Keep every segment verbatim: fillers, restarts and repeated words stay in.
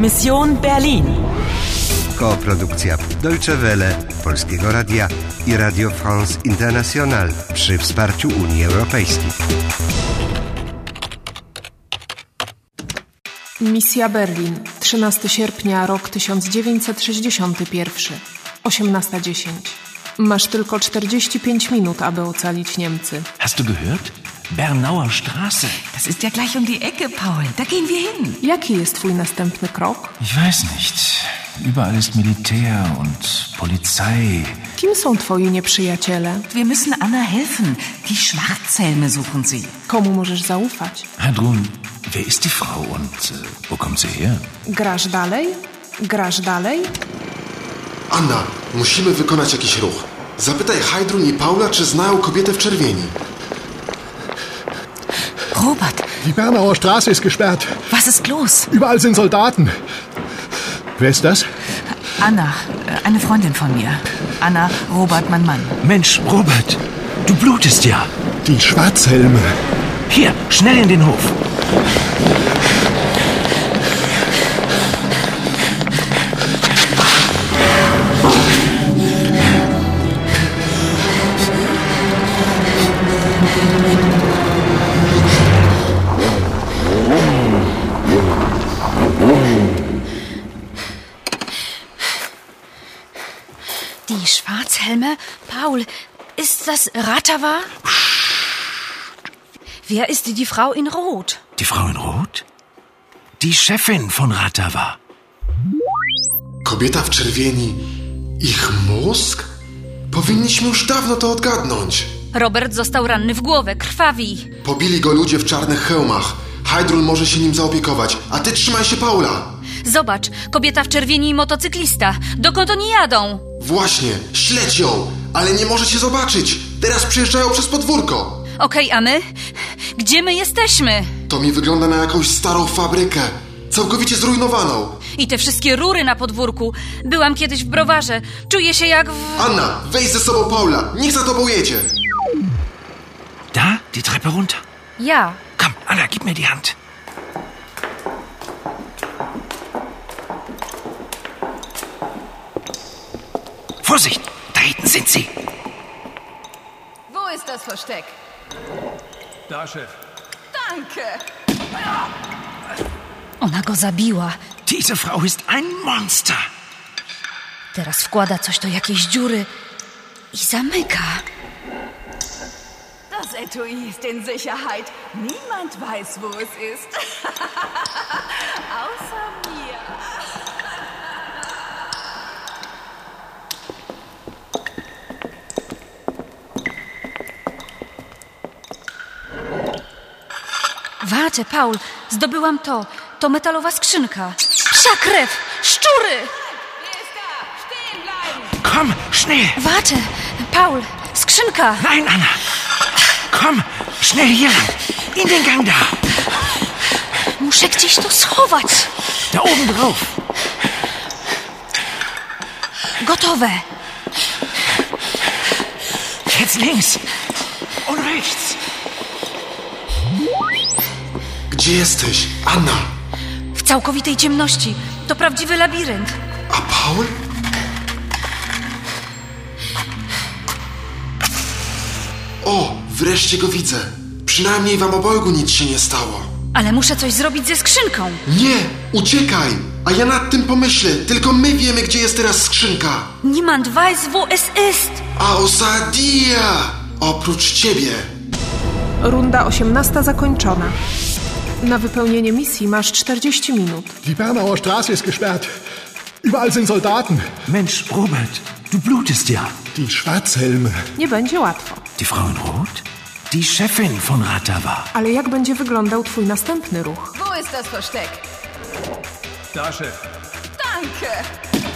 Mission Berlin. Koprodukcja Deutsche Welle, Polskiego Radia i Radio France International przy wsparciu Unii Europejskiej. Misja Berlin, trzynastego sierpnia, rok tysiąc dziewięćset sześćdziesiąty pierwszy, osiemnasta dziesięć. Masz tylko czterdzieści pięć minut, aby ocalić Niemcy. Hast du gehört? Bernauer Straße. Das ist ja gleich um die Ecke, Paul. Da gehen wir hin. Jaki jest twój następny krok? Ich weiß nicht. Überall ist Militär und Polizei. Kim są twoi nieprzyjaciele? Wir müssen Anna helfen. Die Schwarzhelme suchen sie. Komu możesz zaufać? Heidrun, wer ist die Frau und äh, wo kommt sie her? Grasz dalej? Grasz dalej? Anna, musimy wykonać jakiś ruch. Zapytaj Heidrun i Paula, czy znają kobietę w czerwieni. Robert. Die Bernauer Straße ist gesperrt. Was ist los? Überall sind Soldaten. Wer ist das? Anna, eine Freundin von mir. Anna, Robert, mein Mann. Mensch, Robert, du blutest ja. Die Schwarzhelme. Hier, schnell in den Hof. Die Schwarzhelme? Paul, ist das Ratawa? Wer ist die Frau in Rot? Die Frau in Rot? Die Chefin von Ratawa. Kobieta w czerwieni. Ich mózg? Powinniśmy już dawno to odgadnąć. Robert został ranny w głowę, krwawi. Pobili go ludzie w czarnych hełmach. Heidrun może się nim zaopiekować, a ty trzymaj się Paula. Zobacz, kobieta w czerwieni i motocyklista. Dokąd oni jadą? Właśnie, śledź ją, ale nie może cię zobaczyć. Teraz przejeżdżają przez podwórko. Okej, a my? Gdzie my jesteśmy? To mi wygląda na jakąś starą fabrykę. Całkowicie zrujnowaną. I te wszystkie rury na podwórku. Byłam kiedyś w browarze. Czuję się jak w... Anna, weź ze sobą Paula. Niech za tobą jedzie. Da, die Treppe runter. Ja. Komm, Anna, gib mir die Hand. Vorsicht, da hinten sind sie. Wo ist das Versteck? Da, Chef. Danke. Ona go zabiła. Diese Frau ist ein Monster. Teraz wkłada coś do jakiejś dziury i zamyka. Das Etui ist in Sicherheit. Niemand weiß, wo es ist. Außer mir. Warte, Paul, zdobyłam to. To metalowa skrzynka. Psia krew! Szczury! Wer ist da? Stehen bleiben! Komm, schnell. Warte, Paul, skrzynka! Nein, Anna. Komm, schnell hier lang. In den Gang da. Muszę gdzieś to schować. Da oben drauf. Gotowe. Jetzt links. Und rechts. Gdzie jesteś, Anna? W całkowitej ciemności. To prawdziwy labirynt. A Paul? O, wreszcie go widzę. Przynajmniej wam obojgu nic się nie stało. Ale muszę coś zrobić ze skrzynką. Nie, uciekaj! A ja nad tym pomyślę. Tylko my wiemy, gdzie jest teraz skrzynka. Niemand weiß, wo es ist. Außer dir! Oprócz ciebie. Runda osiemnasta zakończona. Na wypełnienie misji masz czterdzieści minut. Die Bernauer Straße ist gesperrt. Überall sind Soldaten. Mensch, Robert, du blutest ja. Die Schwarzhelme. Nie będzie łatwo. Die Frau in Rot? Die Chefin von Ratawa. Ale jak będzie wyglądał twój następny ruch? Wo ist das Versteck? Da, Chef. Danke.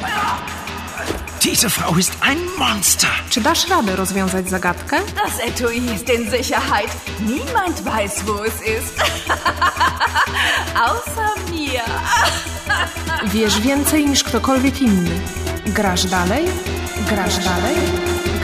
Diese Frau ist ein Monster. Czy dasz radę rozwiązać zagadkę? Das Etui ist in Sicherheit. Niemand weiß, wo es ist. Außer mir. Wiesz więcej niż ktokolwiek inny. Grasz dalej? Grasz dalej?